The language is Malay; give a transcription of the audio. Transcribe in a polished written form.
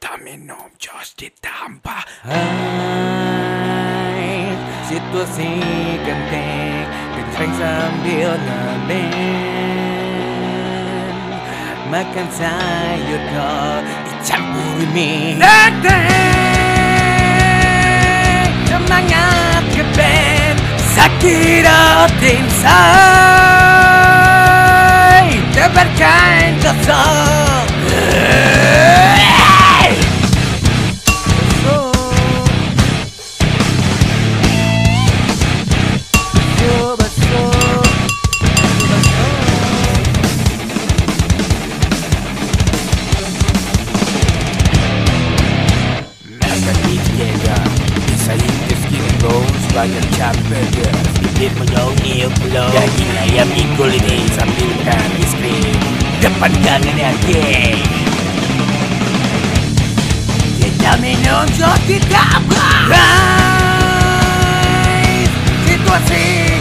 Kita minum jos ditambah. Hai, situasi genting kenceng sambil ngeband. Makan sayur kok dicampuri mie. Deng-deng, semangat ngeband, sakit hati inside. Tebarkan gosok. Banyak burger, sedikit menyongil pulau. Daging ayam ikul ini sambil makan es krim depan gangannya geng. Kita minum jos ditambah. Situasi